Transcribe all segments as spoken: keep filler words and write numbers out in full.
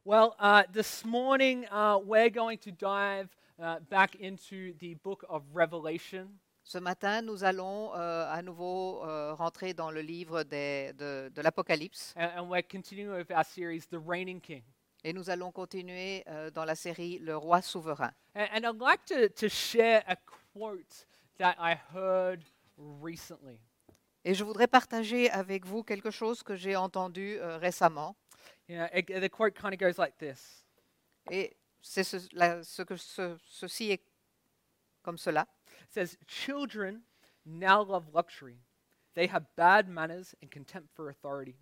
Well, uh, this morning uh, we're going to dive uh, back into the book of Revelation. Ce matin, nous allons euh, à nouveau euh, rentrer dans le livre des- de, de l'Apocalypse And, and we're continuing with our series, The Reigning King. et nous allons continuer euh, dans la série Le Roi souverain. And, and I'd like to, to share a quote that I heard recently. Et je voudrais partager avec vous quelque chose que j'ai entendu euh, récemment. You know, it- the quote kind of goes like this. Et c'est ce, la- ce que ce- ceci est comme cela. It says, "Children now love luxury. They have bad manners and contempt for authority.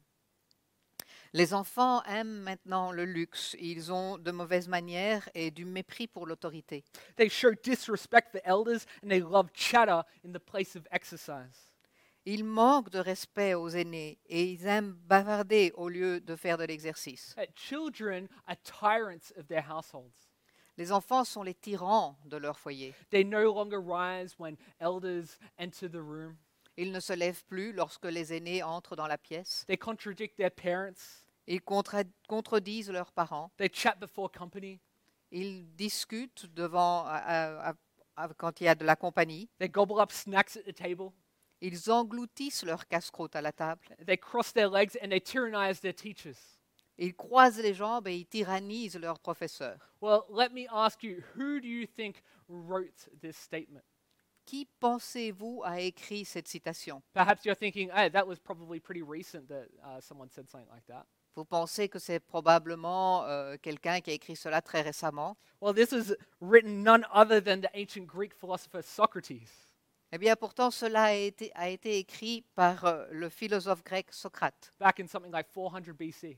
Les enfants aiment maintenant le luxe. Ils ont de mauvaises manières et du mépris pour l'autorité. They show disrespect for elders and they love chatter in the place of exercise." Ils manquent de respect aux aînés et ils aiment bavarder au lieu de faire de l'exercice. Uh, children are tyrants of their households. Les enfants sont les tyrans de leur foyer. They no longer rise when elders enter the room. Ils ne se lèvent plus lorsque les aînés entrent dans la pièce. They contradict their parents. Ils contra- contredisent leurs parents. They chat before company. Ils discutent devant, à- à- à- quand il y a de la compagnie. They gobble up snacks at the table. Ils engloutissent leur casse-croûte à la table. They cross their legs and they tyrannize their teachers. Ils croisent les jambes et ils tyrannisent leurs professeurs. Well, let me ask you, who do you think wrote this statement? Qui pensez-vous a écrit cette citation? Perhaps you're thinking, hey, that was probably pretty recent that uh, someone said something like that. Vous pensez que c'est probablement euh, quelqu'un qui a écrit cela très récemment? Well, this was written none other than the ancient Greek philosopher Socrates. Eh bien, pourtant, cela a été, a été écrit par euh, le philosophe grec Socrate, Back in something like four hundred B C.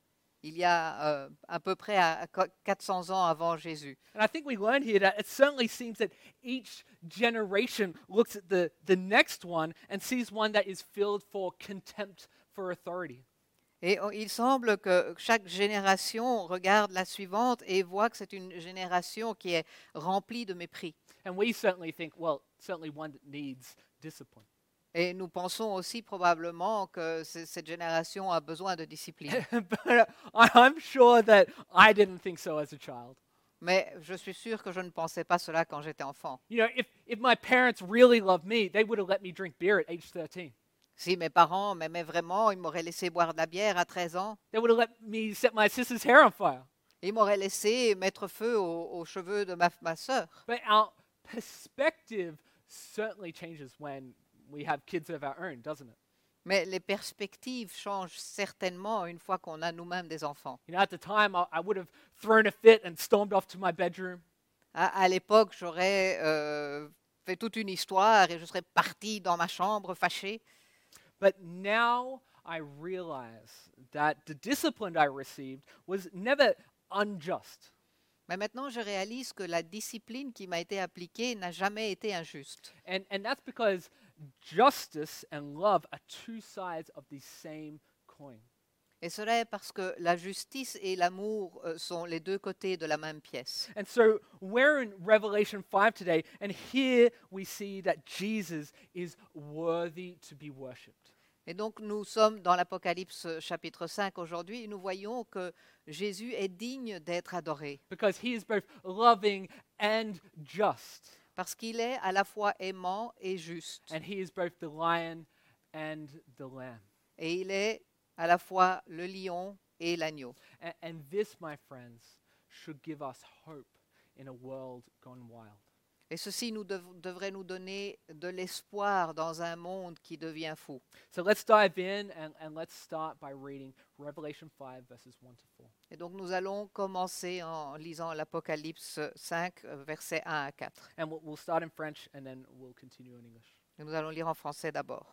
il y a euh, à peu près à, à qu- quatre cents ans avant Jésus. And I think we learned here that it certainly seems that each generation looks at the, the next one and sees one that is filled for contempt for authority. Et on- il semble que chaque génération regarde la suivante et voit que c'est une génération qui est remplie de mépris. And we certainly think, well, certainly one that needs discipline. Et nous pensons aussi probablement que c- cette génération a besoin de discipline. but uh, I- I'm sure that I didn't think so as a child. Mais je suis sûr que je ne pensais pas cela quand j'étais enfant. You know, if, if my parents really loved me, they would have let me drink beer at age thirteen. Si mes parents m'aimaient vraiment, ils m'auraient laissé boire de la bière à treize ans. They would have let me set my sister's hair on fire. Ils m'auraient laissé mettre feu aux, aux cheveux de ma, ma sœur. But our perspective certainly changes when we have kids of our own, doesn't it? Mais les perspectives changent certainement une fois qu'on a nous-mêmes des enfants. You know, at the time, I, I would have thrown a fit and stormed off to my bedroom. À, à l'époque, j'aurais euh, fait toute une histoire et je serais partie dans ma chambre fâchée. But now I realize that the discipline I received was never unjust. Mais maintenant, je réalise que la discipline qui m'a été appliquée n'a jamais été injuste. And, and that's because justice and love are two sides of the same coin. Et cela est parce que la justice et l'amour euh, sont les deux côtés de la même pièce. And so we're in Revelation five today, and here we see that Jesus is worthy to be worshipped. Et donc nous sommes dans l'Apocalypse chapitre cinq aujourd'hui et nous voyons que Jésus est digne d'être adoré Because he is both loving and just, parce qu'il est à la fois aimant et juste. and he is both the lion and the lamb. Et il est à la fois le lion et l'agneau. And, and this, my friends, should give us hope in a world gone wild. Et ceci nous dev- devrait nous donner de l'espoir dans un monde qui devient fou. So let's dive in and, and let's start by reading Revelation five, verses one to four. Et donc nous allons commencer en lisant l'Apocalypse cinq, euh, versets un à quatre. And we'll, we'll start in French and then we'll continue in English. Et nous allons lire en français d'abord.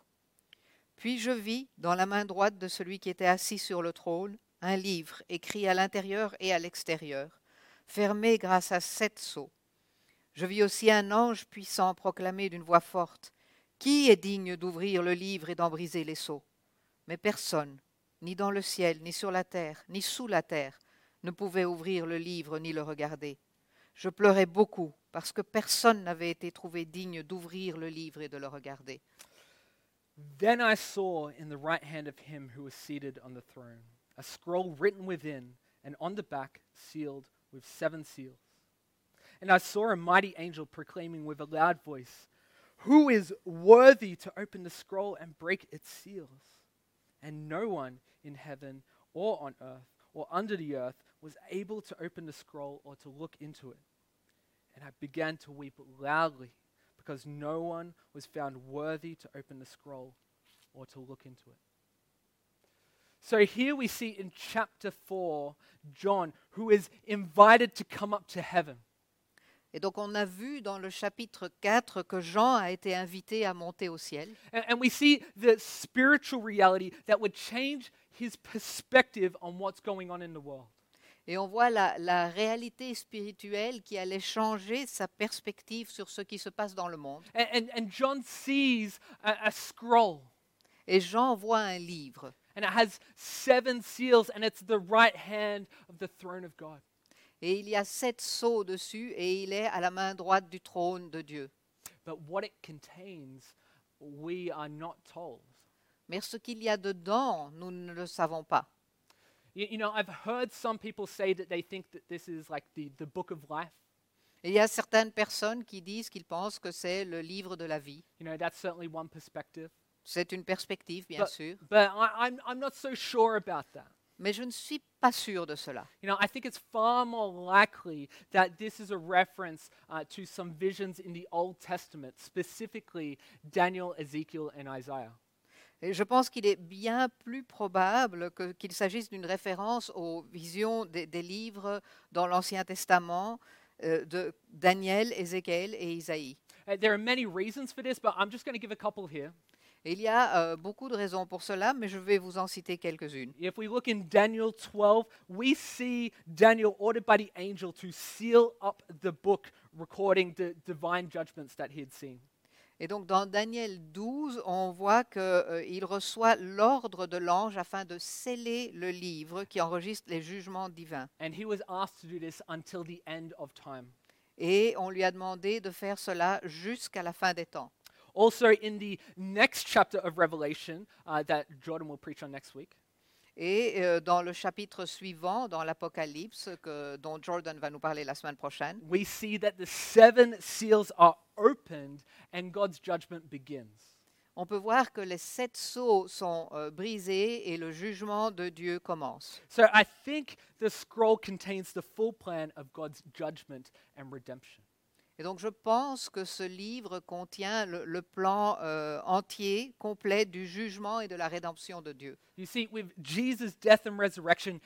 Puis je vis, dans la main droite de celui qui était assis sur le trône, un livre écrit à l'intérieur et à l'extérieur, fermé grâce à sept sceaux. Je vis aussi un ange puissant proclamer d'une voix forte, « Qui est digne d'ouvrir le livre et d'en briser les sceaux ?» Mais personne, ni dans le ciel, ni sur la terre, ni sous la terre, ne pouvait ouvrir le livre ni le regarder. Je pleurais beaucoup parce que personne n'avait été trouvé digne d'ouvrir le livre et de le regarder. Then I saw in the right hand of him who was seated on the throne a scroll written within and on the back sealed with seven seals. And I saw a mighty angel proclaiming with a loud voice, "Who is worthy to open the scroll and break its seals?" And no one in heaven or on earth or under the earth was able to open the scroll or to look into it. And I began to weep loudly because no one was found worthy to open the scroll or to look into it. So here we see in chapter four, John, who is invited to come up to heaven. Et donc on a vu dans le chapitre quatre que Jean a été invité à monter au ciel. And, and we see the spiritual reality that would change his perspective on what's going on in the world. Et on voit la, la réalité spirituelle qui allait changer sa perspective sur ce qui se passe dans le monde. And, and, and John sees a, a scroll, Et Jean voit un livre. and it has seven seals, and it's the right hand of the throne of God. Et il y a sept sceaux dessus et il est à la main droite du trône de Dieu. But what it contains, we are not told. Mais ce qu'il y a dedans, nous ne le savons pas. You, you know, I've heard some people say that they think that this is like the, the book of life. Et il y a certaines personnes qui disent qu'ils pensent que c'est le livre de la vie. You know, that's certainly one perspective. C'est une perspective, bien But, sûr. but I, I'm, I'm not so sure about that. Mais je ne suis pas sûre de cela. You know, I think it's far more likely that this is a reference uh, to some visions in the Old Testament, specifically Daniel, Ezekiel, and Isaiah. Et je pense qu'il est bien plus probable que- qu'il s'agisse d'une référence aux visions des, des livres dans l'Ancien Testament euh, de Daniel, Ézéchiel et Isaïe. Uh, there are many reasons for this, but I'm just going to give a couple here. Et il y a euh, beaucoup de raisons pour cela, mais je vais vous en citer quelques-unes. If we look in Daniel twelve, we see Daniel ordered by the angel to seal up the book recording the divine judgments that he had seen. Et donc dans Daniel douze, on voit qu'il reçoit l'ordre de l'ange afin de sceller le livre qui enregistre les jugements divins. And he was asked to do this until the end of time. Et on lui a demandé de faire cela jusqu'à la fin des temps. Also, in the next chapter of Revelation uh, that Jordan will preach on next week, Et euh, dans le chapitre suivant, dans l'Apocalypse, que- dont Jordan va nous parler la semaine prochaine, we see that the seven seals are opened and God's judgment begins. on peut voir que les sept sceaux sont euh, brisés et le jugement de Dieu commence. So I think the scroll contains the full plan of God's judgment and redemption. Et donc je pense que ce livre contient le, le plan euh, entier, complet du jugement et de la rédemption de Dieu. You see, with Jesus' death and resurrection,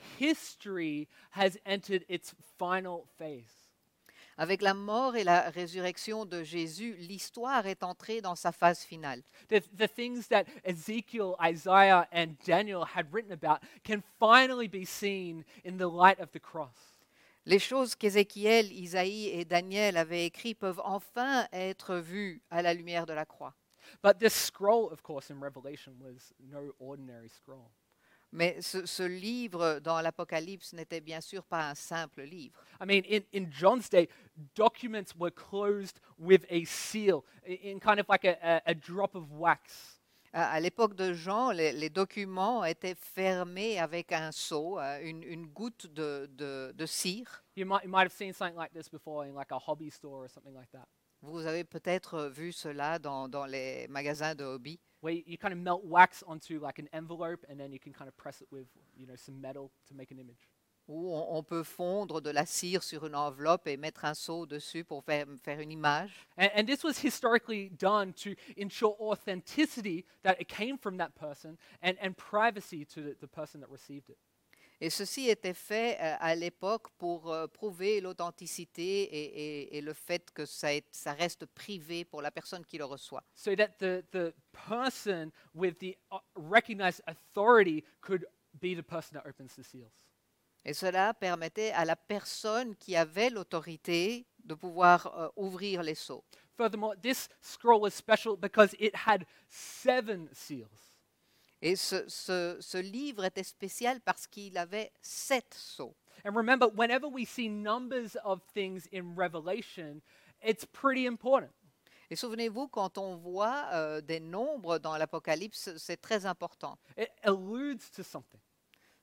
history has entered its final phase. Avec la mort et la résurrection de Jésus, l'histoire est entrée dans sa phase finale. The, the things that Ezekiel, Isaiah, and Daniel had written about can finally be seen in the light of the cross. Les choses qu'Ézéchiel, Isaïe et Daniel avaient écrites peuvent enfin être vues à la lumière de la croix. But this scroll, of course, in Revelation was no ordinary scroll. Mais ce, ce livre dans l'Apocalypse n'était bien sûr pas un simple livre. I mean, in, in John's day, documents were closed with a seal, i- in kind of like a, a, a drop of wax. À, à l'époque de Jean, les, les documents étaient fermés avec un sceau, euh, une, une goutte de, de- de cire. You might, you might have seen something like this before in like a hobby store or something like that, Vous avez peut-être vu cela dans, dans les magasins de hobby, where you, you kind of melt wax onto like an envelope and then you can kind of press it with, you know, some metal to make an image. où on, on peut fondre de la cire sur une enveloppe et mettre un sceau dessus pour faire, faire une image. And, and this was historically done to ensure authenticity, that it came from that person, and, and privacy to the, the person that received it. Et ceci était fait euh, à l'époque pour euh, prouver l'authenticité et, et- et le fait que ça, est- ça reste privé pour la personne qui le reçoit. So that the, the person with the uh, recognized authority could be the person that opens the seals. Et cela permettait à la personne qui avait l'autorité de pouvoir euh, ouvrir les sceaux. Furthermore, this scroll was special because it had seven seals. Et ce, ce- ce livre était spécial parce qu'il avait sept sceaux. And remember, whenever we see numbers of things in Revelation, it's pretty important. Et souvenez-vous, quand on voit euh, des nombres dans l'Apocalypse, c'est très important. It alludes to something.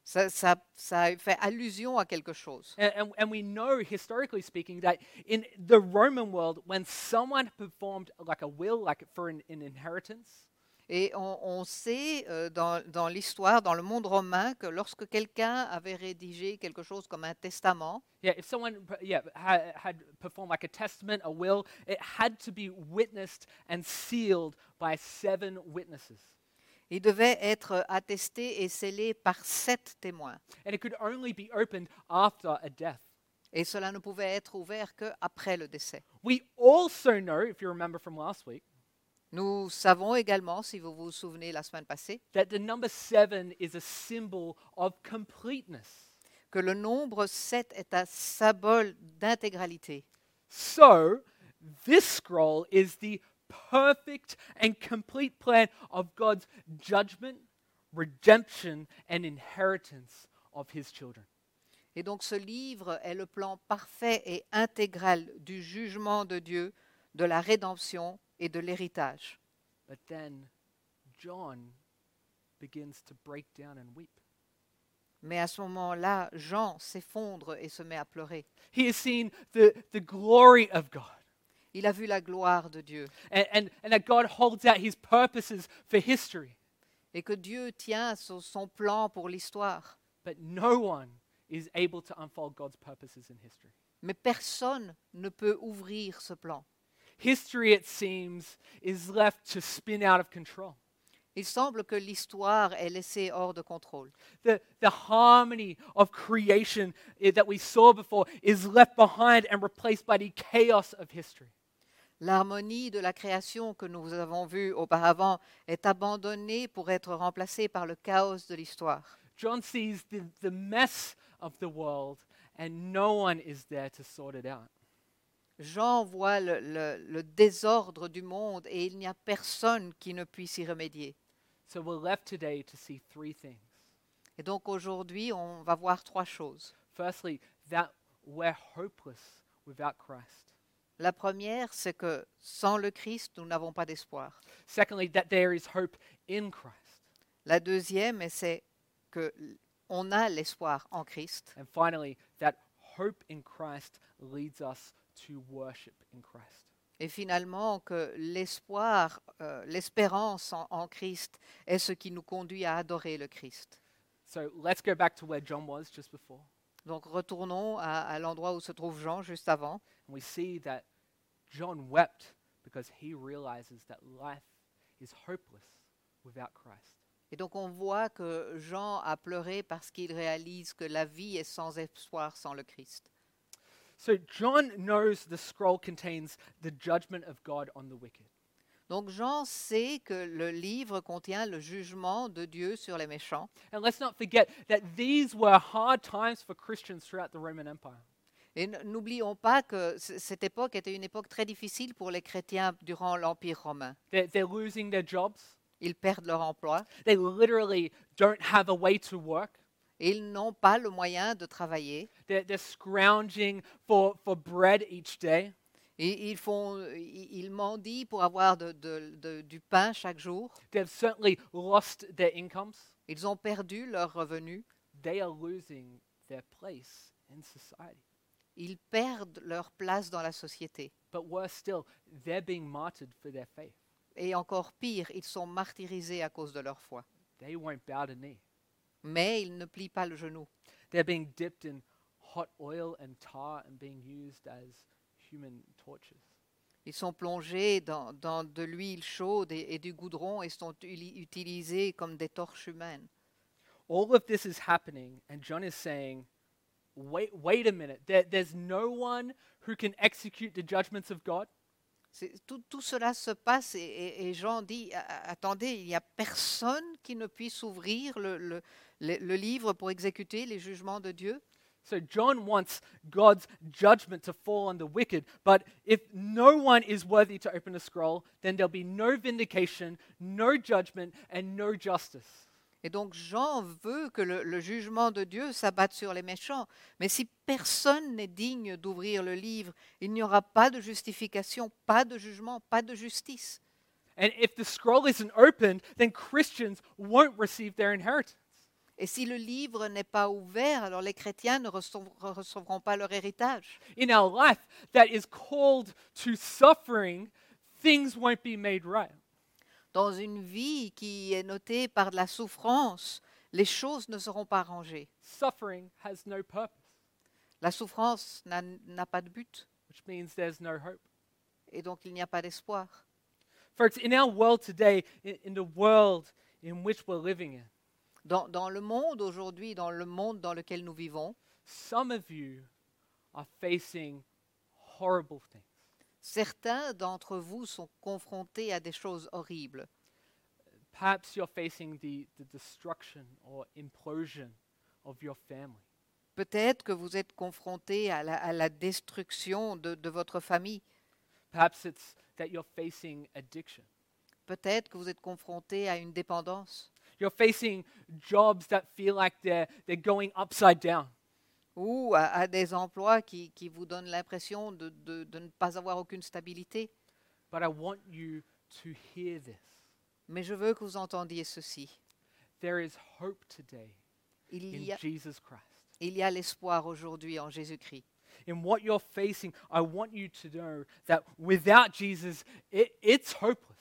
Ça, ça, ça fait allusion à quelque chose. And, and, and we know, historically speaking, that in the Roman world, when someone performed like a will, like for an, an inheritance, Et on, on sait euh, dans, dans l'histoire, dans le monde romain, que lorsque quelqu'un avait rédigé quelque chose comme un testament, yeah, if someone yeah, had, had performed like a testament, a will, it had to be witnessed and sealed by seven witnesses. il devait être attesté et scellé par sept témoins. And it could only be opened after a death. Et cela ne pouvait être ouvert qu'après le décès. We also know, if you remember from last week, Nous savons également, si vous vous souvenez la semaine passée, that the number seven is a symbol of completeness. que le nombre sept est un symbole d'intégralité. So, this scroll is the perfect and complete plan of God's judgment, redemption, and inheritance of his children. Et donc ce livre est le plan parfait et intégral du jugement de Dieu, de la rédemption et de l'héritage. But then John begins to break down and weep. Mais à ce moment-là, Jean s'effondre et se met à pleurer. He has seen the, the glory of God, Il a vu la gloire de Dieu and, and, and that God holds out his purposes for history. et que Dieu tient son, son plan pour l'histoire. But no one is able to unfold God's purposes in history. Mais personne ne peut ouvrir ce plan. History, it seems, is left to spin out of control. Il semble que l'histoire est laissée hors de contrôle. The, the harmony of creation eh, that we saw before is left behind and replaced by the chaos of history. L'harmonie de la création que nous avons vue auparavant est abandonnée pour être remplacée par le chaos de l'histoire. John sees the, the mess of the world and no one is there to sort it out. Jean voit le, le- le désordre du monde et il n'y a personne qui ne puisse y remédier. So we're left today to see three things. Et donc aujourd'hui, on va voir trois choses. Firstly, that we're hopeless without Christ. La première, c'est que sans le Christ, nous n'avons pas d'espoir. Secondly, that there is hope in Christ. La deuxième, c'est que on a l'espoir en Christ. And finally, that hope in Christ leads us to worship in Christ. Et finalement, que l'espoir, euh, l'espérance en, en Christ est ce qui nous conduit à adorer le Christ. So let's go back to where John was just before. Donc retournons à, à l'endroit où se trouve Jean juste avant. And we see that John wept because he realizes that life is hopeless without Christ. Et donc on voit que Jean a pleuré parce qu'il réalise que la vie est sans espoir sans le Christ. So John knows the scroll contains the judgment of God on the wicked. Donc Jean sait que le livre contient le jugement de Dieu sur les méchants. And let's not forget that these were hard times for Christians throughout the Roman Empire. Et n- n'oublions pas que c- cette époque était une époque très difficile pour les chrétiens durant l'Empire romain. They're, they're losing their jobs. Ils perdent leur emploi They literally don't have a way to work. et ils n'ont pas le moyen de travailler. They're, they're scrounging for, for bread each day. Et ils, font, ils ils mendient pour avoir de- de- de- du pain chaque jour. They've certainly lost their incomes. Ils ont perdu leurs revenus. They are losing their place in society. Ils perdent leur place dans la société. But worse still, they're being martyred for their faith. Et encore pire, ils sont martyrisés à cause de leur foi. They won't bow the knee. Mais ils ne plient pas le genou. They're being dipped in hot oil and tar and being used as human torches. Ils sont plongés dans, dans de l'huile chaude et, et du goudron et sont uli- utilisés comme des torches humaines. All of this is happening, and John is saying, wait, wait a minute. There, there's no one who can execute the judgments of God. C'est- Tout, tout cela se passe et, et- et Jean dit, A- a- attendez, il n'y a personne qui ne puisse ouvrir le, le- le- le livre pour exécuter les jugements de Dieu. So John wants God's judgment to fall on the wicked, but if no one is worthy to open the scroll, then there'll be no vindication, no judgment, and no justice. Et donc Jean veut que le, le jugement de Dieu s'abatte sur les méchants. Mais si personne n'est digne d'ouvrir le livre, il n'y aura pas de justification, pas de jugement, pas de justice. And if the scroll isn't opened, then Christians won't receive their inheritance. Et si le livre n'est pas ouvert, alors les chrétiens ne recev- recevront pas leur héritage. In our life that is called to suffering, things won't be made right. Dans une vie qui est notée par de la souffrance, les choses ne seront pas arrangées. Suffering has no purpose, La souffrance n'a n'a pas de but, which means there's no hope. et donc il n'y a pas d'espoir. Folks, in our world today, in, in the world in which we're living in, Dans, dans le monde aujourd'hui, dans le monde dans lequel nous vivons, some of you are facing horrible things. certains d'entre vous sont confrontés à des choses horribles. Perhaps you're facing the, the destruction or implosion of your family. Peut-être que vous êtes confrontés à la, à la destruction de, de votre famille. Perhaps it's that you're facing addiction. Peut-être que vous êtes confrontés à une dépendance. You're facing jobs that feel like they're, they're going upside down. Ou à, à des emplois qui, qui vous donnent l'impression de, de, de ne pas avoir aucune stabilité. But I want you to hear this. Mais je veux que vous entendiez ceci. There is hope today Il in y a, Jesus Christ. il y a l'espoir aujourd'hui en Jésus-Christ. In what you're facing, I want you to know that without Jesus, it, it's hopeless.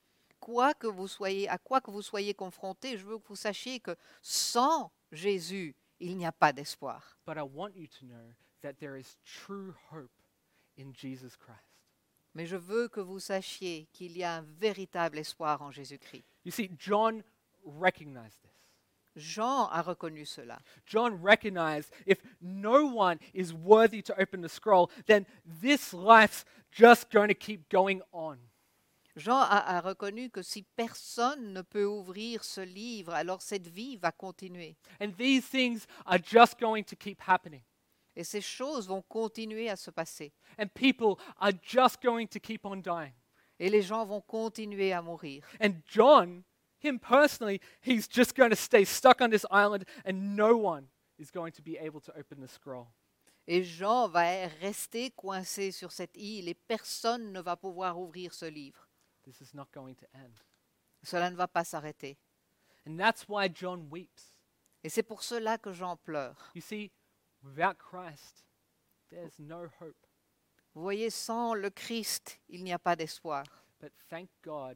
Quoi que vous soyez, à quoi que vous soyez confrontés, je veux que vous sachiez que sans Jésus, il n'y a pas d'espoir. But I want you to know that there is true hope in Jesus Christ. Mais je veux que vous sachiez qu'il y a un véritable espoir en Jésus-Christ. You see, John recognized this. Jean a reconnu cela. John recognized if no one is worthy to open the scroll, then this life's just going to keep going on. Jean a, a reconnu que si personne ne peut ouvrir ce livre, alors cette vie va continuer. And these things are just going to keep happening. Et ces choses vont continuer à se passer. And people are just going to keep on dying. Et les gens vont continuer à mourir. And John, him personally, he's just going to stay stuck on this island and no one is going to be able to open the scroll. Et Jean va rester coincé sur cette île et personne ne va pouvoir ouvrir ce livre. This is not going to end. Cela ne va pas s'arrêter. And that's why John weeps. Et c'est pour cela que Jean pleure. You see, without Christ, there's no hope. Vous voyez, sans le Christ, il n'y a pas d'espoir. But thank God,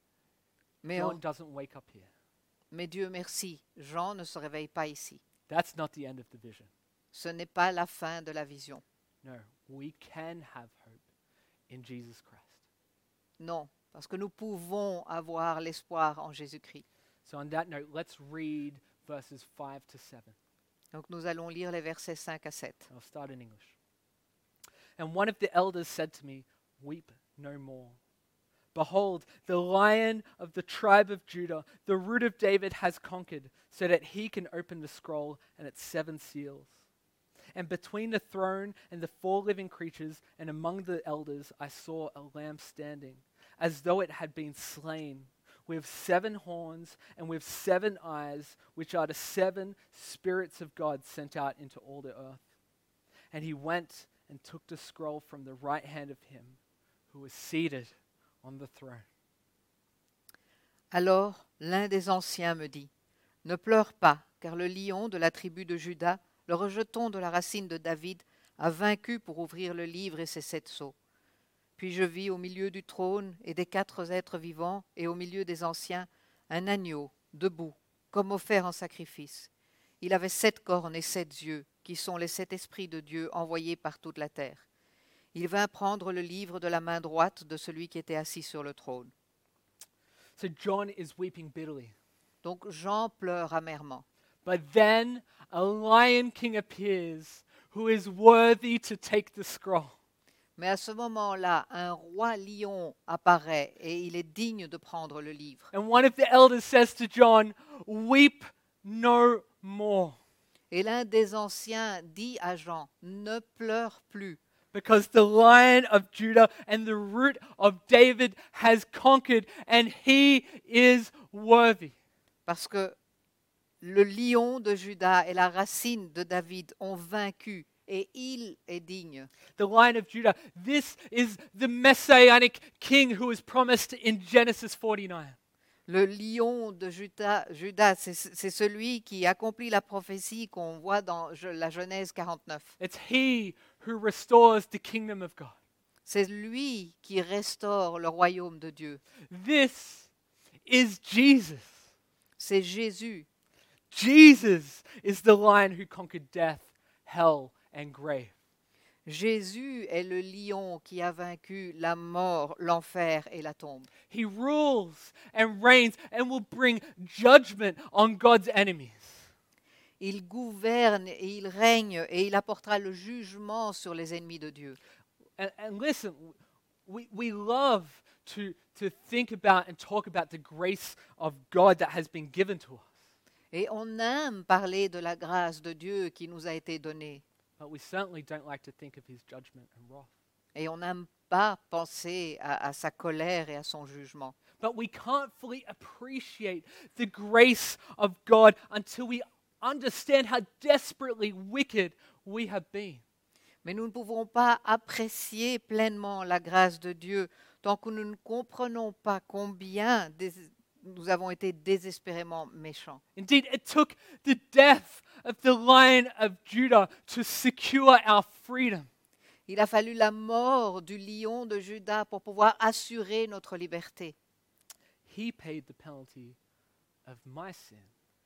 Mais, John oh, doesn't wake up here. mais Dieu merci, Jean ne se réveille pas ici. That's not the end of the vision. Ce n'est pas la fin de la vision. No, we can have hope in Jesus Christ. Non, parce que nous pouvons avoir l'espoir en Jésus-Christ. So on that note, let's read verses five to seven. Donc nous allons lire les versets cinq à sept. I'll start in English. And one of the elders said to me, "Weep no more. Behold, the Lion of the tribe of Judah, the Root of David, has conquered, so that he can open the scroll and its seven seals." And between the throne and the four living creatures and among the elders, I saw a lamb standing, as though it had been slain, with seven horns and with seven eyes, which are the seven spirits of God sent out into all the earth. And he went and took the scroll from the right hand of him who was seated on the throne. Alors l'un des anciens me dit, « Ne pleure pas, car le lion de la tribu de Juda, le rejeton de la racine de David, a vaincu pour ouvrir le livre et ses sept sceaux. » Puis je vis au milieu du trône et des quatre êtres vivants et au milieu des anciens un agneau debout, comme offert en sacrifice. Il avait sept cornes et sept yeux, qui sont les sept esprits de Dieu envoyés par toute la terre. Il vint prendre le livre de la main droite de celui qui était assis sur le trône. So John is weeping bitterly. Donc Jean pleure amèrement. But then a lion king appears who is worthy to take the scroll. Mais à ce moment-là, un roi lion apparaît et il est digne de prendre le livre. And one of the elders says to John, "Weep no more, Et l'un des anciens dit à Jean, « Ne pleure plus, because the Lion of Judah and the Root of David has conquered, and he is worthy." parce que le lion de Juda et la racine de David ont vaincu et il est digne. The Lion of Judah, this is the messianic king who was promised in Genesis forty-nine. Le lion de Juda, Judas, c'est c'est celui qui accomplit la prophétie qu'on voit dans Je- la Genèse quarante-neuf. It's he who restores the kingdom of God. C'est lui qui restaure le royaume de Dieu. This is Jesus. C'est Jésus. Jesus is the lion who conquered death, hell, and grave. Jésus est le lion qui a vaincu la mort, l'enfer et la tombe. He rules and reigns and will bring judgment on God's enemies. Il gouverne et il règne et il apportera le jugement sur les ennemis de Dieu. And, and listen, we, we love to, to think about and talk about the grace of God that has been given to us. Et on aime parler de la grâce de Dieu qui nous a été donnée. But we certainly don't like to think of his judgment and wrath. Et on n'aime pas penser à, à sa colère et à son jugement. But we can't fully appreciate the grace of God until we understand how desperately wicked we have been. Mais nous ne pouvons pas apprécier pleinement la grâce de Dieu tant que nous ne comprenons pas combien dés- nous avons été désespérément méchants. Indeed, it took the death of the Lion of Judah to secure our freedom. Il a fallu la mort du lion de Juda pour pouvoir assurer notre liberté. He paid the penalty of my sin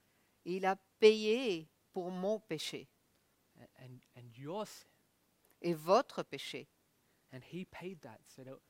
Il a payé pour mon péché and, and your sin. et votre péché. And he paid that so that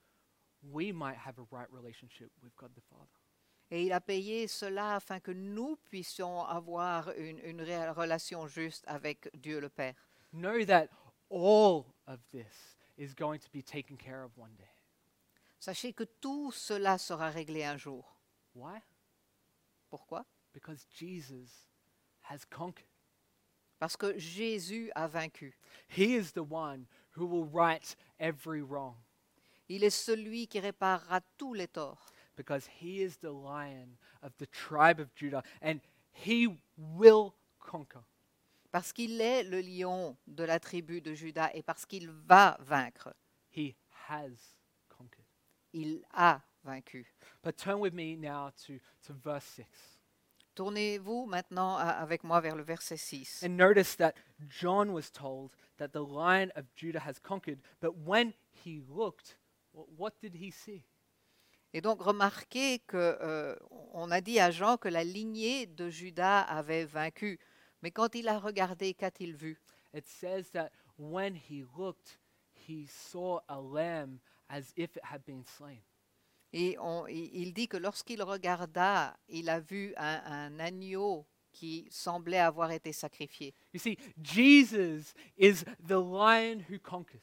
we might have a right relationship with God the Father. Et il a payé cela afin que nous puissions avoir une, une ré- relation juste avec Dieu le Père. Know that all of this is going to be taken care of one day. Sachez que tout cela sera réglé un jour. Why? Pourquoi? Because Jesus has conquered. Parce que Jésus a vaincu. He is the one who will right every wrong Il est celui qui réparera tous les torts. because he is the lion of the tribe of Judah and he will conquer. Parce qu'il est le lion de la tribu de Juda et parce qu'il va vaincre. He has conquered. Il a vaincu. But turn with me now to, to verse six. Tournez-vous maintenant à- avec moi vers le verset six. And notice that John was told that the lion of Judah has conquered, but when he looked, wh- what did he see? Et donc remarquez que euh, on a dit à Jean que la lignée de Juda avait vaincu. Mais quand il a regardé, qu'a-t-il vu? It says that when he looked, he saw a lamb as if it had been slain. Et on- il il dit que lorsqu'il regarda, il a vu un, un agneau qui semblait avoir été sacrifié. You see, Jesus is the lion who conquers,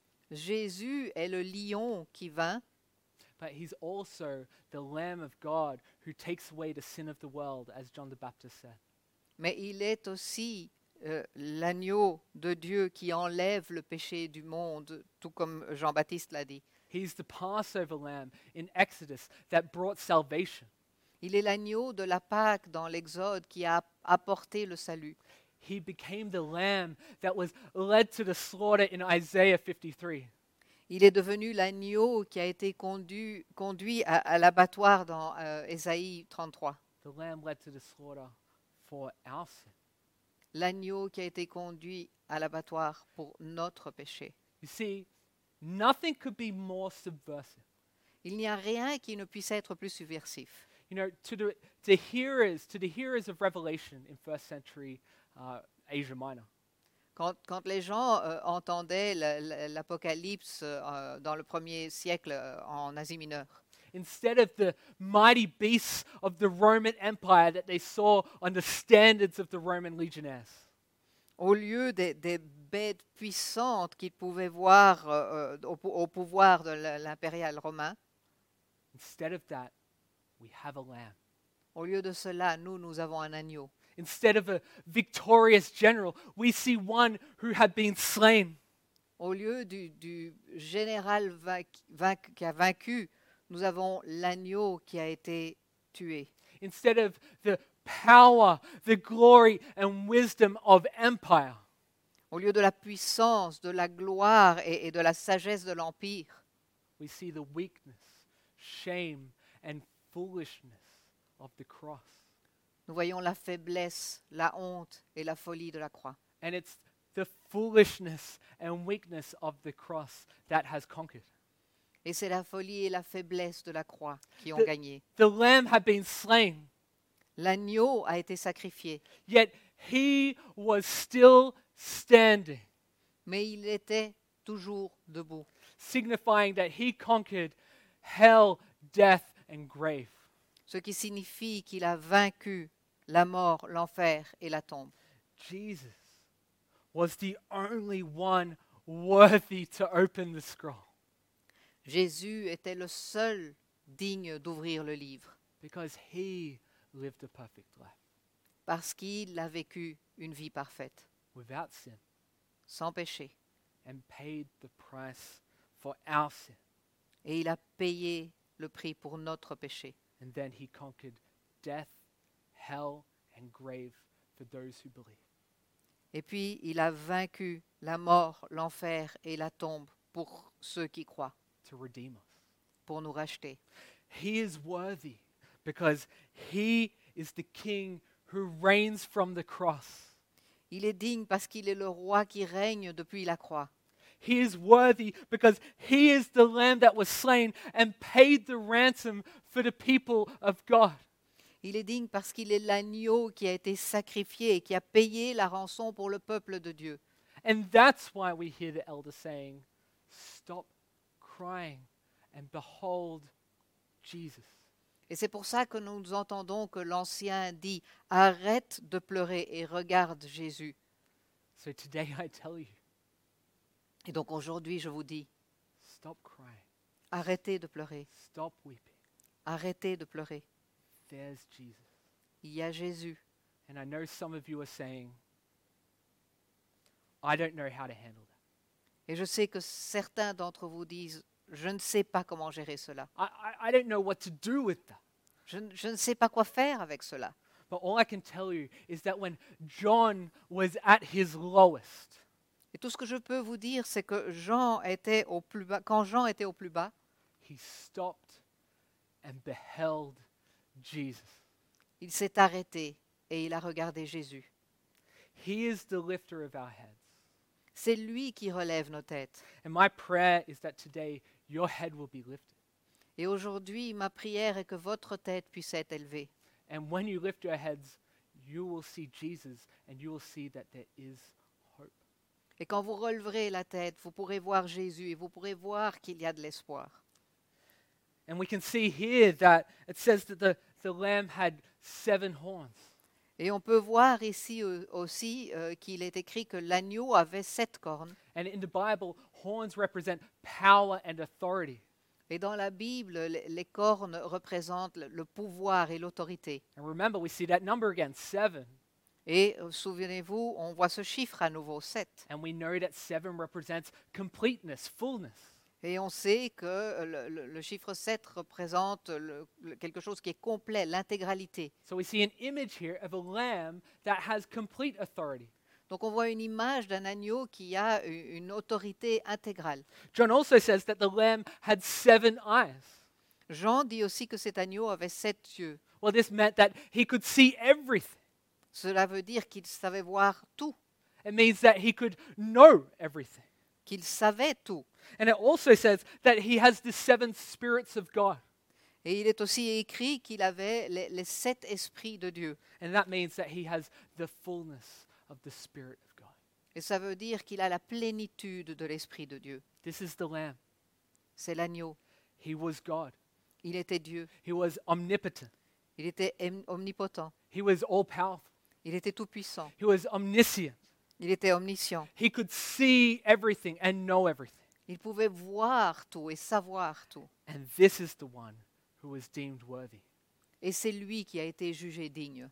Jésus est le lion qui vint, but he's also the Lamb of God who takes away the sin of the world, as John the Baptist said. mais il est aussi euh, l'agneau de Dieu qui enlève le péché du monde, tout comme Jean-Baptiste l'a dit. He's the Passover lamb in Exodus that brought salvation. Il est l'agneau de la Pâque dans l'Exode qui a apporté le salut. He became the lamb that was led to the slaughter in Isaiah fifty-three. Il est devenu l'agneau qui a été conduit, conduit à, à l'abattoir dans euh, Ésaïe trente-trois. The lamb led to the slaughter for our sin. L'agneau qui a été conduit à l'abattoir pour notre péché. You see, nothing could be more subversive. Il n'y a rien qui ne puisse être plus subversif. You know, to the to hearers, to the hearers of Revelation in first century uh, Asia Minor, Quand, quand les gens euh, entendaient la- la- l'Apocalypse euh, dans le premier siècle euh, en Asie mineure, instead of the mighty beasts of the Roman Empire that they saw on the standards of the Roman legionnaires, au lieu des, des bêtes puissantes qu'ils pouvaient voir euh, euh, au, pou- au pouvoir de la- l'impérial romain, instead of that, we have a lamb. au lieu de cela, nous, nous avons un agneau. Instead of a victorious general, we see one who had been slain. Au lieu du, du général vainc- vainc- qui a vaincu, nous avons l'agneau qui a été tué. Instead of the power, the glory, and wisdom of empire, Au lieu de la puissance, de la gloire et, et de la sagesse de l'Empire, we see the weakness, shame, and foolishness of the cross. Nous voyons la faiblesse, la honte et la folie de la croix. And it's the foolishness and weakness of the cross that has conquered. Et c'est la folie et la faiblesse de la croix qui ont The- gagné. The lamb had been slain, L'agneau a été sacrifié, yet he was still standing, mais il était toujours debout, signifying that he conquered hell, death, and grave. ce qui signifie qu'il a vaincu la mort, l'enfer et la tombe. Jesus was the only one worthy to open the scroll Jésus était le seul digne d'ouvrir le livre, because he lived a perfect life parce qu'il a vécu une vie parfaite, without sin sans péché, and paid the price for our sin. et il a payé le prix pour notre péché. And then he conquered death, hell, and grave for those who believe. Et puis il a vaincu la mort, l'enfer et la tombe pour ceux qui croient, To redeem us. pour nous racheter. He is worthy because he is the king who reigns from the cross. Il est digne parce qu'il est le roi qui règne depuis la croix. He is worthy because he is the lamb that was slain and paid the ransom for the people of God. Il est digne parce qu'il est l'agneau qui a été sacrifié et qui a payé la rançon pour le peuple de Dieu. And that's why we hear the elder saying, "Stop crying and behold Jesus." Et c'est pour ça que nous entendons que l'Ancien dit « Arrête de pleurer et regarde Jésus So today I tell you, ». Et donc aujourd'hui, je vous dis, stop crying, arrêtez de pleurer, stop weeping. arrêtez de pleurer. There's Jesus. Il y a Jésus. And I know some of you are saying, I don't know how to handle that. Et je sais que certains d'entre vous disent « Je ne sais pas comment gérer cela. I, I, I don't know what to do with that. Je, ne- je ne sais pas quoi faire avec cela. » But all I can tell you is that when John was at his lowest, Et tout ce que je peux vous dire, c'est que Jean était au plus bas. Quand Jean était au plus bas, he stopped and beheld Jesus. il s'est arrêté et il a regardé Jésus. He is the lifter of our heads. C'est lui qui relève nos têtes. And my prayer is that today your head will be lifted. Et aujourd'hui, ma prière est que votre tête puisse être élevée. And when you lift your heads, you will see Jesus and you will see that there is hope. Et quand vous releverez la tête, vous pourrez voir Jésus et vous pourrez voir qu'il y a de l'espoir. And we can see here that it says that the, the lamb had seven horns. Et on peut voir ici euh, aussi euh, qu'il est écrit que l'agneau avait sept cornes. And in the Bible, horns represent power and authority. Et dans la Bible, les, les cornes représentent le, le pouvoir et l'autorité. And remember, we see that number again, seven. Et euh, souvenez-vous, on voit ce chiffre à nouveau, sept. And we know that seven represents completeness, fullness. Et on sait que euh, le, le- le chiffre sept représente le- le- quelque chose qui est complet, l'intégralité. So we see an image here of a lamb that has complete authority. Donc on voit une image d'un agneau qui a u- une autorité intégrale. John also says that the lamb had seven eyes. Jean dit aussi que cet agneau avait sept yeux. Well, this meant that he could see everything. Cela veut dire qu'il savait voir tout, It means that he could know everything. qu'il savait tout. And it also says that he has the seven spirits of God. Et il est aussi écrit qu'il avait les, les sept esprits de Dieu. And that means that he has the fullness of the Spirit of God. Et ça veut dire qu'il a la plénitude de l'esprit de Dieu. This is the lamb. C'est l'agneau. He was God. Il était Dieu. He was omnipotent. Il était em- omnipotent. He was all powerful. Il était tout-puissant. He was omniscient. Il était omniscient. He could see everything and know everything. Il pouvait voir tout et savoir tout. And this is the one who was deemed worthy. Et c'est lui qui a été jugé digne.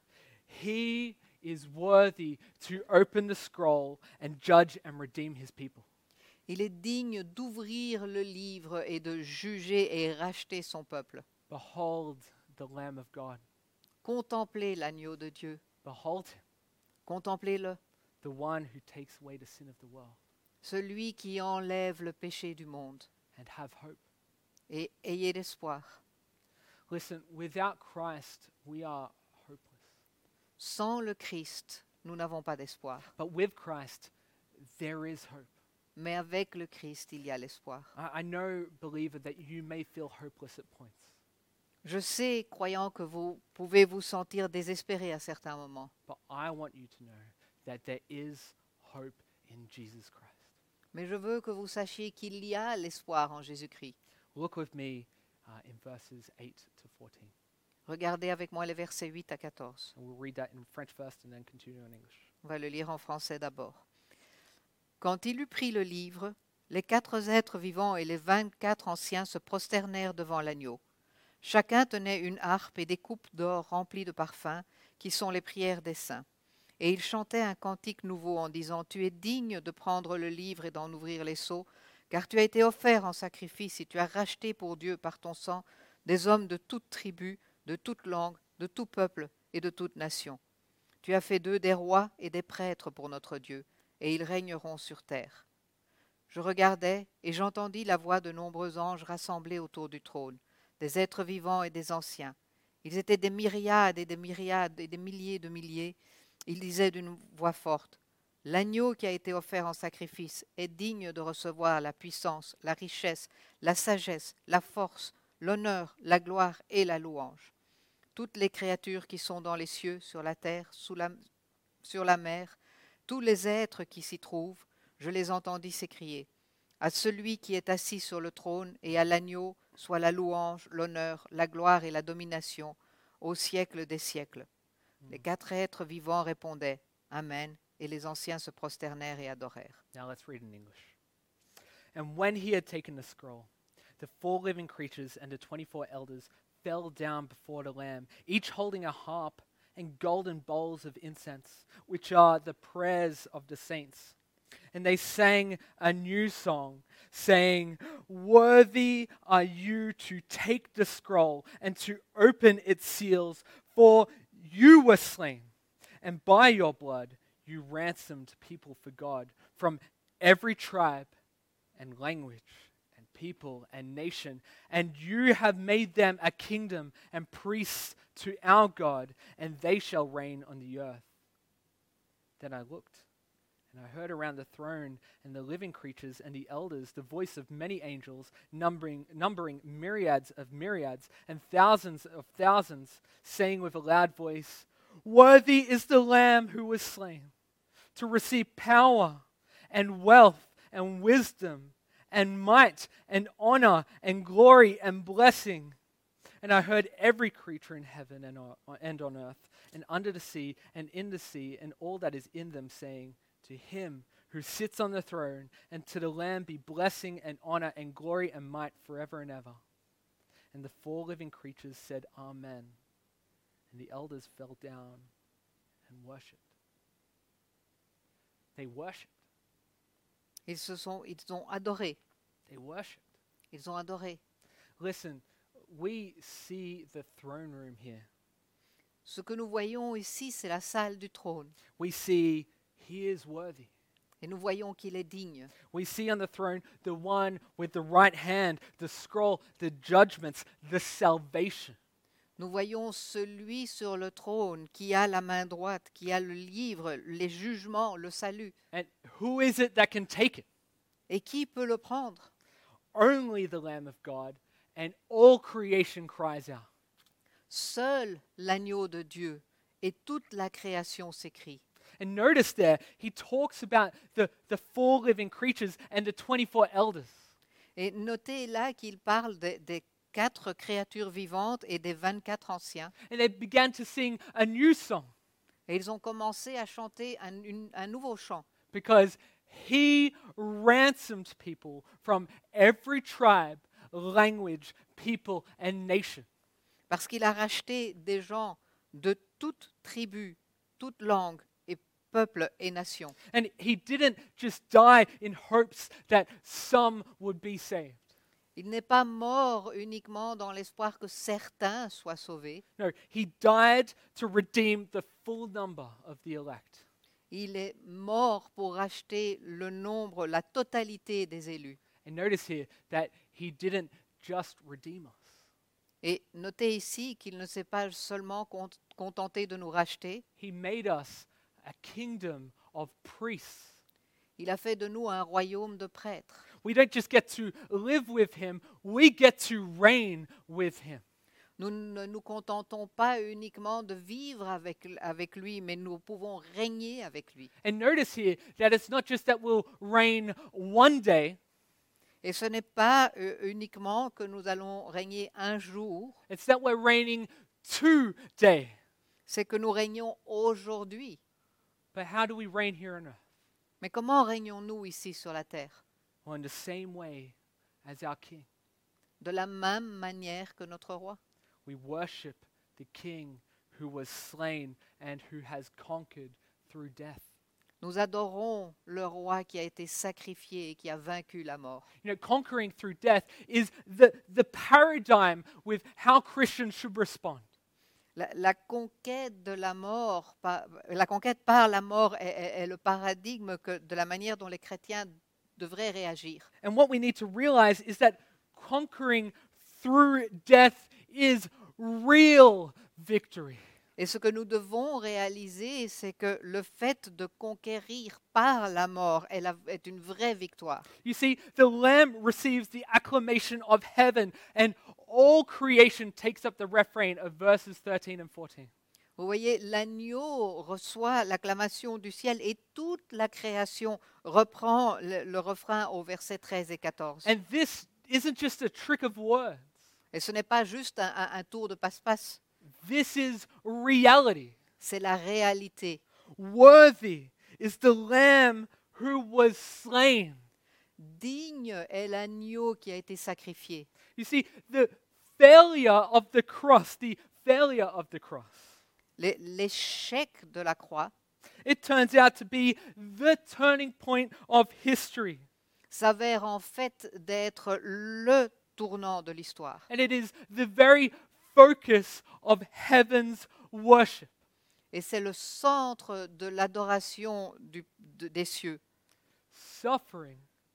He is worthy to open the scroll and judge and redeem his people. Il est digne d'ouvrir le livre et de juger et racheter son peuple. Behold the Lamb of God. Contemplez l'agneau de Dieu. Behold him, Contemplez-le. the one who takes away the sin of the world. Celui qui enlève le péché du monde. And have hope. Et ayez l'espoir. Listen, without Christ, we are hopeless. Sans le Christ, nous n'avons pas d'espoir. But with Christ, there is hope. Mais avec le Christ, il y a l'espoir. I, I know, believer, that you may feel hopeless at points. Je sais, croyant, que vous pouvez vous sentir désespéré à certains moments. But I want you to know that there is hope in Jesus Christ. Mais je veux que vous sachiez qu'il y a l'espoir en Jésus-Christ. Look with me uh, in verses eight to fourteen. Regardez avec moi les versets huit à quatorze. And we'll read that in French first and then continue in English. On va le lire en français d'abord. Quand il eut pris le livre, les quatre êtres vivants et les vingt-quatre anciens se prosternèrent devant l'agneau. Chacun tenait une harpe et des coupes d'or remplies de parfums, qui sont les prières des saints. Et ils chantaient un cantique nouveau en disant « Tu es digne de prendre le livre et d'en ouvrir les sceaux, car tu as été offert en sacrifice et tu as racheté pour Dieu par ton sang des hommes de toute tribu, de toute langue, de tout peuple et de toute nation. Tu as fait d'eux des rois et des prêtres pour notre Dieu, et ils régneront sur terre. » Je regardai et j'entendis la voix de nombreux anges rassemblés autour du trône, des êtres vivants et des anciens. Ils étaient des myriades et des myriades et des milliers de milliers. Ils disaient d'une voix forte, « L'agneau qui a été offert en sacrifice est digne de recevoir la puissance, la richesse, la sagesse, la force, l'honneur, la gloire et la louange. » Toutes les créatures qui sont dans les cieux, sur la terre, sous la, sur la mer, tous les êtres qui s'y trouvent, je les entendis s'écrier, « À celui qui est assis sur le trône et à l'agneau, soit la louange, l'honneur, la gloire et la domination, au siècle des siècles. » Les quatre êtres vivants répondaient « Amen » et les anciens se prosternèrent et adorèrent. Now let's read in English. And when he had taken the scroll, the four living creatures and the twenty-four elders fell down before the Lamb, each holding a harp and golden bowls of incense, which are the prayers of the saints. And they sang a new song, saying, "Worthy are you to take the scroll and to open its seals, for you were slain, and by your blood you ransomed people for God from every tribe and language and people and nation, and you have made them a kingdom and priests to our God, and they shall reign on the earth." Then I looked, and I heard around the throne and the living creatures and the elders the voice of many angels, numbering, numbering myriads of myriads and thousands of thousands, saying with a loud voice, "Worthy is the Lamb who was slain, to receive power and wealth and wisdom and might and honor and glory and blessing." And I heard every creature in heaven and on, and on earth and under the sea and in the sea and all that is in them saying, "To him who sits on the throne and to the Lamb be blessing and honor and glory and might forever and ever." And the four living creatures said, "Amen." And the elders fell down and worshipped. They worshipped. Ils se sont, ils ont adoré. They worshipped. Ils ont adoré. Listen, we see the throne room here. Ce que nous voyons ici, c'est la salle du trône. We see he is worthy. Et nous voyons qu'il est digne. We see on the throne the one with the right hand, the scroll, the judgments, the salvation. Nous voyons celui sur le trône qui a la main droite, qui a le livre, les jugements, le salut. And who is it that can take it? Et qui peut le prendre? Only the Lamb of God, and all creation cries out. Seul l'agneau de Dieu et toute la création s'écrie. And notice there, he talks about the, the four living creatures and the twenty-four elders. Et notez là qu'il parle des, des quatre créatures vivantes et des vingt-quatre anciens. And they began to sing a new song Et ils ont commencé à chanter un, une- un nouveau chant. because he ransomed people from every tribe, language, people, and nation. Parce qu'il a racheté des gens de toute tribu, toute langue et peuple et nation. And he didn't just die in hopes that some would be saved. Il n'est pas mort uniquement dans l'espoir que certains soient sauvés. No, he died to redeem the full number of the elect. Il est mort pour racheter le nombre, la totalité des élus. And notice here that he didn't just redeem us. Et notez ici qu'il ne s'est pas seulement cont- contenté de nous racheter, He made us a kingdom of priests. il a fait de nous un royaume de prêtres. We don't just get to live with him, we get to reign with him. Nous ne nous contentons pas uniquement de vivre avec, avec lui, mais nous pouvons régner avec lui. And notice here that it's not just that we'll reign one day, Et ce n'est pas euh, uniquement que nous allons régner un jour, it's that we're reigning today. c'est que nous régnons aujourd'hui. But how do we reign here on earth? Mais comment régnons-nous ici sur la terre? Well, in the same way as our King. De la même manière que notre roi. We worship the King who was slain and who has conquered through death. Nous adorons le roi qui a été sacrifié et qui a vaincu la mort. You know, conquering through death is the, the paradigm with how Christians should respond. La, la conquête de la mort, par, la conquête par la mort est, est- est le paradigme que, de la manière dont les chrétiens devraient réagir. And what we need to realize is that conquering through death is real victory. Et ce que nous devons réaliser, c'est que le fait de conquérir par la mort est, la- est une vraie victoire. You see, the Lamb receives the acclamation of heaven, and all creation takes up the refrain of verses thirteen and fourteen. Vous voyez, l'agneau reçoit l'acclamation du ciel et toute la création reprend le, le refrain au verset treize et quatorze. And this isn't just a trick of words. Et ce n'est pas juste un, un- un tour de passe-passe, This is reality. c'est la réalité. Worthy is the Lamb who was slain. Digne est l'agneau qui a été sacrifié. You see, the failure of the cross, the failure of the cross, L'é- L'échec de la croix it turns out to be the turning point of history. s'avère en fait d'être le tournant de l'histoire. And it is the very focus of heaven's worship. Et c'est le centre de l'adoration du- de- des cieux. Suffering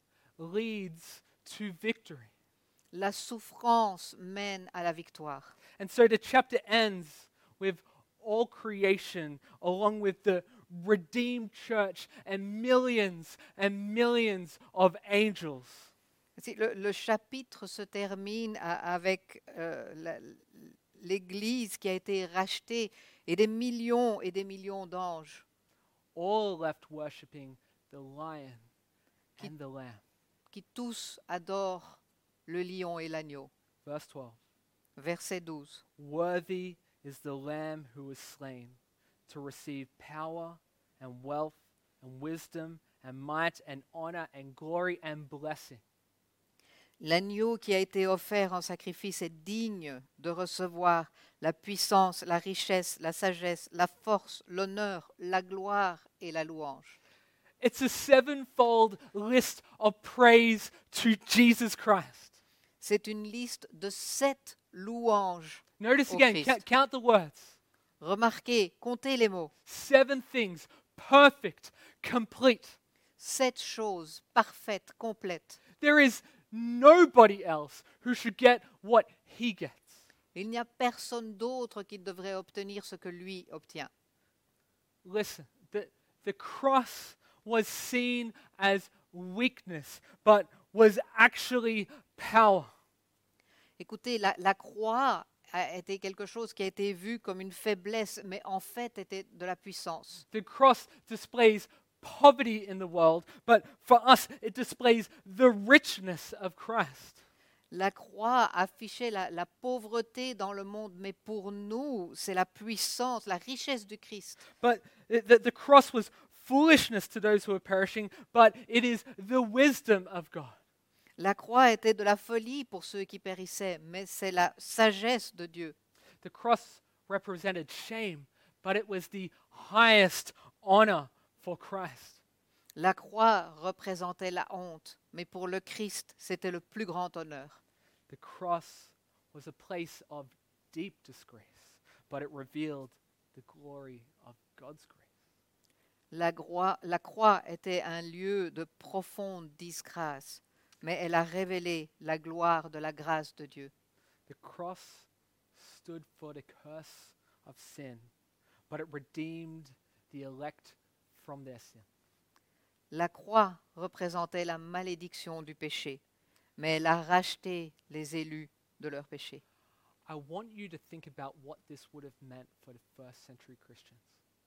leads to victory. La souffrance mène à la victoire. And so the chapter ends with all creation, along with the redeemed church and millions and millions of angels. Si, Le, le chapitre se termine a- avec euh, la- l'Église qui a été rachetée et des millions et des millions d'anges All left worshiping the lion and the lamb. qui tous adorent le lion et l'agneau. Verse twelve. Verset douze. Worthy is the lamb who was slain to receive power and wealth and wisdom and might and honor and glory and blessing. L'agneau qui a été offert en sacrifice est digne de recevoir la puissance, la richesse, la sagesse, la force, l'honneur, la gloire et la louange. It's a sevenfold list of praise to Jesus Christ. C'est une liste de sept louanges. Notice Au again, Christ. ca- count the words. Remarquez, comptez les mots. Seven things, perfect, complete. Sept choses parfaites, complètes. There is nobody else who should get what he gets. Il n'y a personne d'autre qui devrait obtenir ce que lui obtient. Listen, the, the cross was seen as weakness, but was actually power. Écoutez, la, la croix a été quelque chose qui a été vu comme une faiblesse, mais en fait était de la puissance. The cross displays poverty in the world, but for us, it displays the richness of Christ. La croix affichait la, la pauvreté dans le monde, mais pour nous, c'est la puissance, la richesse du Christ. But it- the, the cross was foolishness to those who are perishing, but it is the wisdom of God. La croix était de la folie pour ceux qui périssaient, mais c'est la sagesse de Dieu. The cross represented shame, but it was the highest honor for Christ. La croix représentait la honte, mais pour le Christ, c'était le plus grand honneur. The cross was a place of deep disgrace, but it revealed the glory of God's grace. La croix, la croix était un lieu de profonde disgrâce, mais elle a révélé la gloire de la grâce de Dieu. The cross stood for the curse of sin, but it redeemed the elect from their sin. La croix représentait la malédiction du péché, mais elle a racheté les élus de leur péché. I want you to think about what this would have meant for the first century Christians.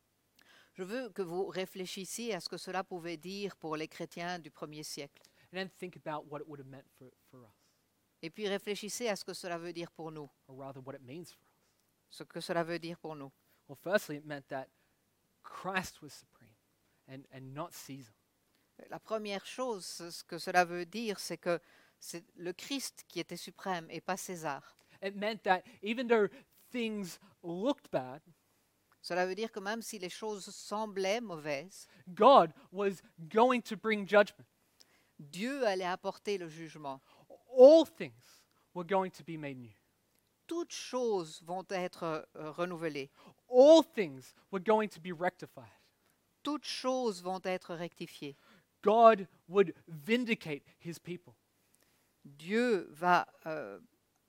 Je veux que vous réfléchissiez à ce que cela pouvait dire pour les chrétiens du premier siècle. And then think about what it would have meant for, for us, Et puis réfléchissez à ce que cela veut dire pour nous, or rather what it means for us. ce que cela veut dire pour nous. Well, firstly, it meant that Christ was supreme and, and not Caesar. La première chose, ce que cela veut dire, c'est que c'est le Christ qui était suprême et pas César. It meant that even though things looked bad, Cela veut dire que même si les choses semblaient mauvaises, God was going to bring judgment. Dieu allait apporter le jugement. All things were going to be made new. Toutes choses vont être euh, renouvelées. All things were going to be rectified. Toutes choses vont être rectifiées. God would vindicate his people. Dieu va euh,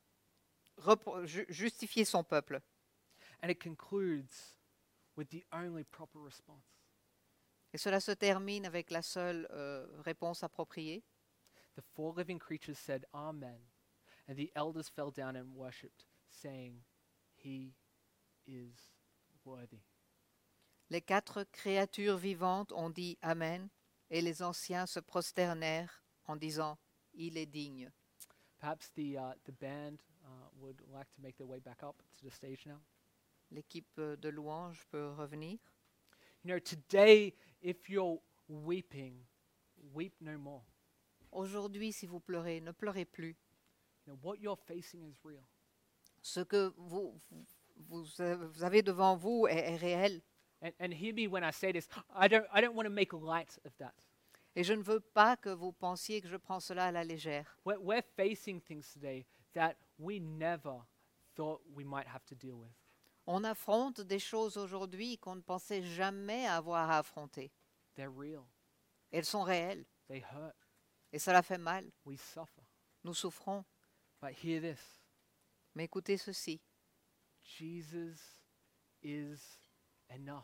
repro- ju- justifier son peuple. And it concludes with the only proper response. Et cela se termine avec la seule euh, réponse appropriée. The four living creatures said, Amen. And the elders fell down and worshipped, saying, He is worthy. Les quatre créatures vivantes ont dit Amen, et les anciens se prosternèrent en disant Il est digne. Perhaps the, uh, the band uh, would like to make their way back up to the stage now. L'équipe de louange peut revenir. You know, today, if you're weeping, weep no more. Aujourd'hui, si vous pleurez, ne pleurez plus. You know, what you're facing is real. Ce que vous, vous, vous avez devant vous est, est réel. And, and hear me when I say this. I don't, I don't want to make light of that. Et je ne veux pas que vous pensiez que je prends cela à la légère. We're, we're facing things today that we never thought we might have to deal with. On affronte des choses aujourd'hui qu'on ne pensait jamais avoir à affronter. They're real. Elles sont réelles They hurt. et cela fait mal. We suffer. Nous souffrons. But hear this. Mais écoutez ceci. Jesus is enough.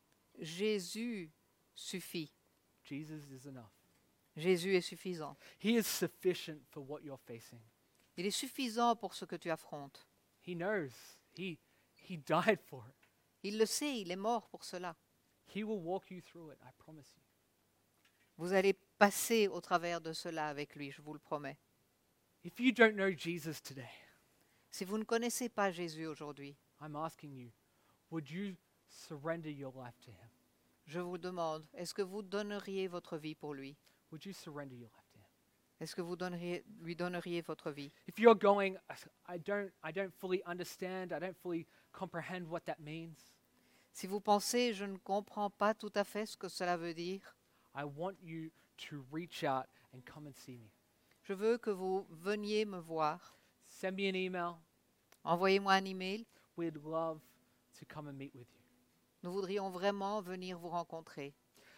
Jésus suffit. Jesus is enough. Jésus est suffisant. He is sufficient for what you're facing. Il est suffisant pour ce que tu affrontes. He knows. He, he died for it. Il le sait, il est mort pour cela. He will walk you through it, I promise you. Vous allez passer au travers de cela avec lui, je vous le promets. If you don't know Jesus today, Si vous ne connaissez pas Jésus aujourd'hui, I'm asking you, would you surrender your life to him? je vous demande, est-ce que vous donneriez votre vie pour lui? Would you surrender your life to him? Est-ce que vous donneriez, lui donneriez votre vie? If you're going, I don't, I don't fully understand, I don't fully comprehend what that means, Si vous pensez, je ne comprends pas tout à fait ce que cela veut dire, I want you to reach out and come and see me. je veux que vous veniez me voir. Send me an email. Envoyez-moi un email. We'd love to come and meet with you. Nous voudrions vraiment venir vous rencontrer.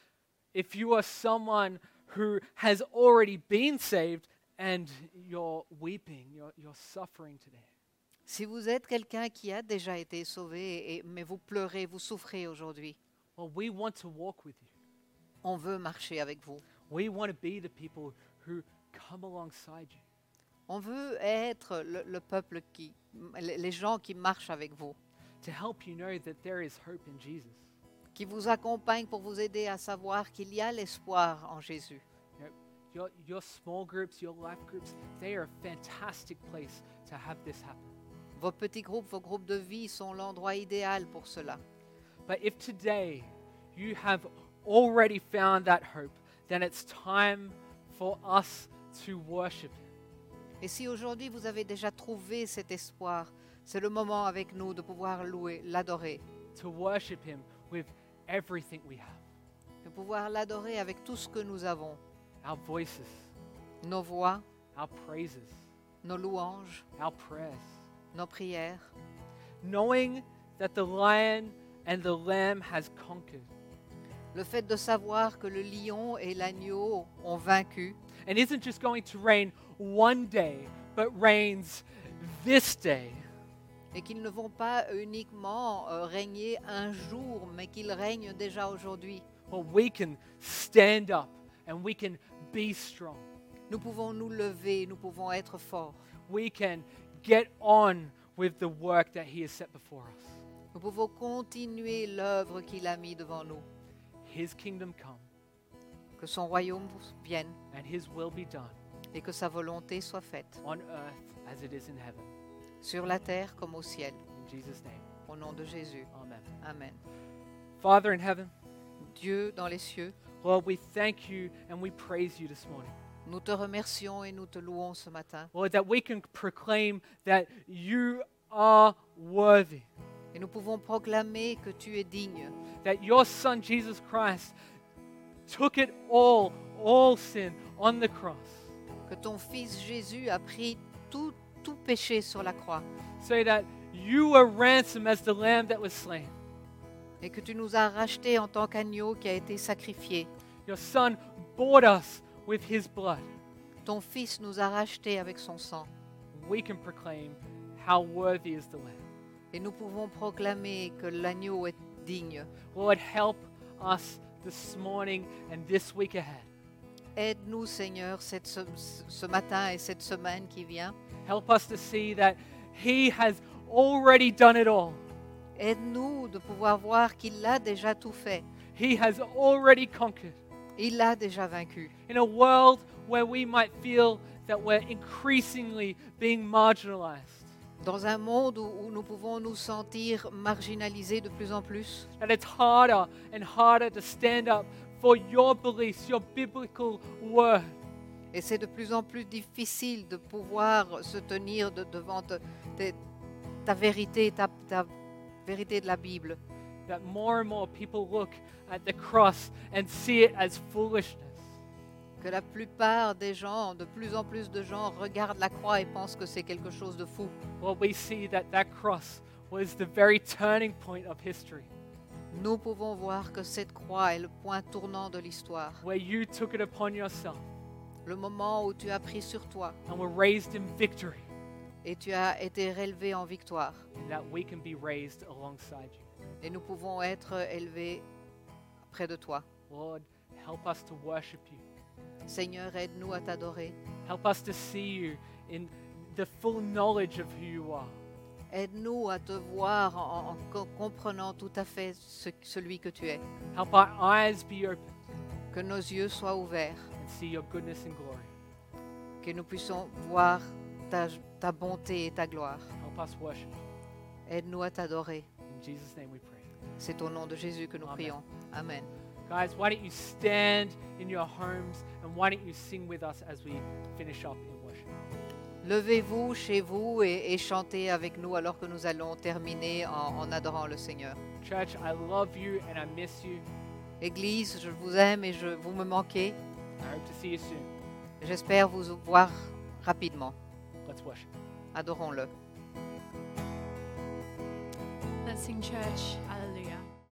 If you are someone who has already been saved and you're weeping, you're, you're suffering today, Si vous êtes quelqu'un qui a déjà été sauvé, et, mais vous pleurez, vous souffrez aujourd'hui, well, we want to walk with you. on veut marcher avec vous. We want to be the people who come alongside you. On veut être le, le peuple qui, les les gens qui marchent avec vous, To help you know that there is hope in Jesus. qui vous accompagnent pour vous aider à savoir qu'il y a l'espoir en Jésus. You know, your, your small groups, your life groups, they are a fantastic place to have this happen. Vos petits groupes, vos groupes de vie sont l'endroit idéal pour cela. But if today you have already found that hope, then it's time for us to worship Him. Et si aujourd'hui vous avez déjà trouvé cet espoir, c'est le moment avec nous de pouvoir louer, l'adorer, To worship Him with everything we have. de pouvoir l'adorer avec tout ce que nous avons, Our voices, nos voix, our praises, nos louanges, our prayers. nos prières, Knowing that the lion and the lamb has conquered le fait de savoir que le lion et l'agneau ont vaincu and isn't just going to reign one day, but reigns this day. Et qu'ils ne vont pas uniquement euh, régner un jour, mais qu'ils règnent déjà aujourd'hui. Well, we can stand up and we can be strong. Nous pouvons nous lever, nous pouvons être forts. We can get on with the work that He has set before us. Nous pouvons continuer l'œuvre qu'il a mis devant nous. His kingdom come Que son royaume vienne and His will be done et que sa volonté soit faite, on earth as it is in heaven. sur la terre comme au ciel. In Jesus' name, Au nom de Jésus. amen. Amen. Father in heaven, Dieu dans les cieux, Lord, we thank you and we praise you this morning. nous te remercions et nous te louons ce matin. Lord, that we can proclaim that you are worthy, Et nous pouvons proclamer que tu es digne, that your Son, Jesus Christ, took it all, all sin on the cross, que ton Fils Jésus a pris tout, tout péché sur la croix so that you were ransomed as the lamb that was slain. et que tu nous as rachetés en tant qu'agneau qui a été sacrifié. Your Son bought us with his blood. Ton Fils nous a rachetés avec son sang. We can proclaim how worthy is the lamb. Et nous pouvons proclamer que l'agneau est digne. Lord, help us this morning and this week ahead. Aide-nous, Seigneur, cette, ce, ce matin et cette semaine qui vient. Help us to see that he has already done it all. Aide-nous de pouvoir voir qu'il a déjà tout fait. He has already conquered. Il l'a déjà vaincu. In a world where we might feel that we're increasingly being marginalized, Dans un monde où, où nous pouvons nous sentir marginalisés de plus en plus, that it's harder and harder to stand up for your beliefs, your biblical word. et c'est de plus en plus difficile de pouvoir se tenir de- devant te- te- ta vérité, ta, ta vérité de la Bible. That more and more people look at the cross and see it as foolishness. Que la plupart des gens, de plus en plus de gens, regardent la croix et pensent que c'est quelque chose de fou. Well, we see that that cross was the very turning point of history, Nous pouvons voir que cette croix est le point tournant de l'histoire. where you took it upon yourself Le moment où tu as pris sur toi and were raised in victory, et tu as été relevé en victoire. and that we can be raised alongside you. Et nous pouvons être élevés près de toi. Lord, help us to worship you. Seigneur, aide-nous à t'adorer. Help us to see you in the full knowledge of who you are. Aide-nous à te voir en, en co- comprenant tout à fait ce- celui que tu es. Help our eyes be open Que nos yeux soient ouverts. and see your goodness and glory. Que nous puissions voir ta, ta bonté et ta gloire. Help us worship you. Aide-nous à t'adorer. In Jesus' name we pray. C'est au nom de Jésus que nous Amen. prions. Amen. Guys, why don't you stand in your homes and why don't you sing with us as we finish up in worship? Levez-vous chez vous et, et chantez avec nous alors que nous allons terminer en, en adorant le Seigneur. Church, I love you and I miss you. Église, je vous aime et je, vous me manquez. I hope to see you soon. J'espère vous voir rapidement. Let's worship. Adorons-le. Let's sing, church. I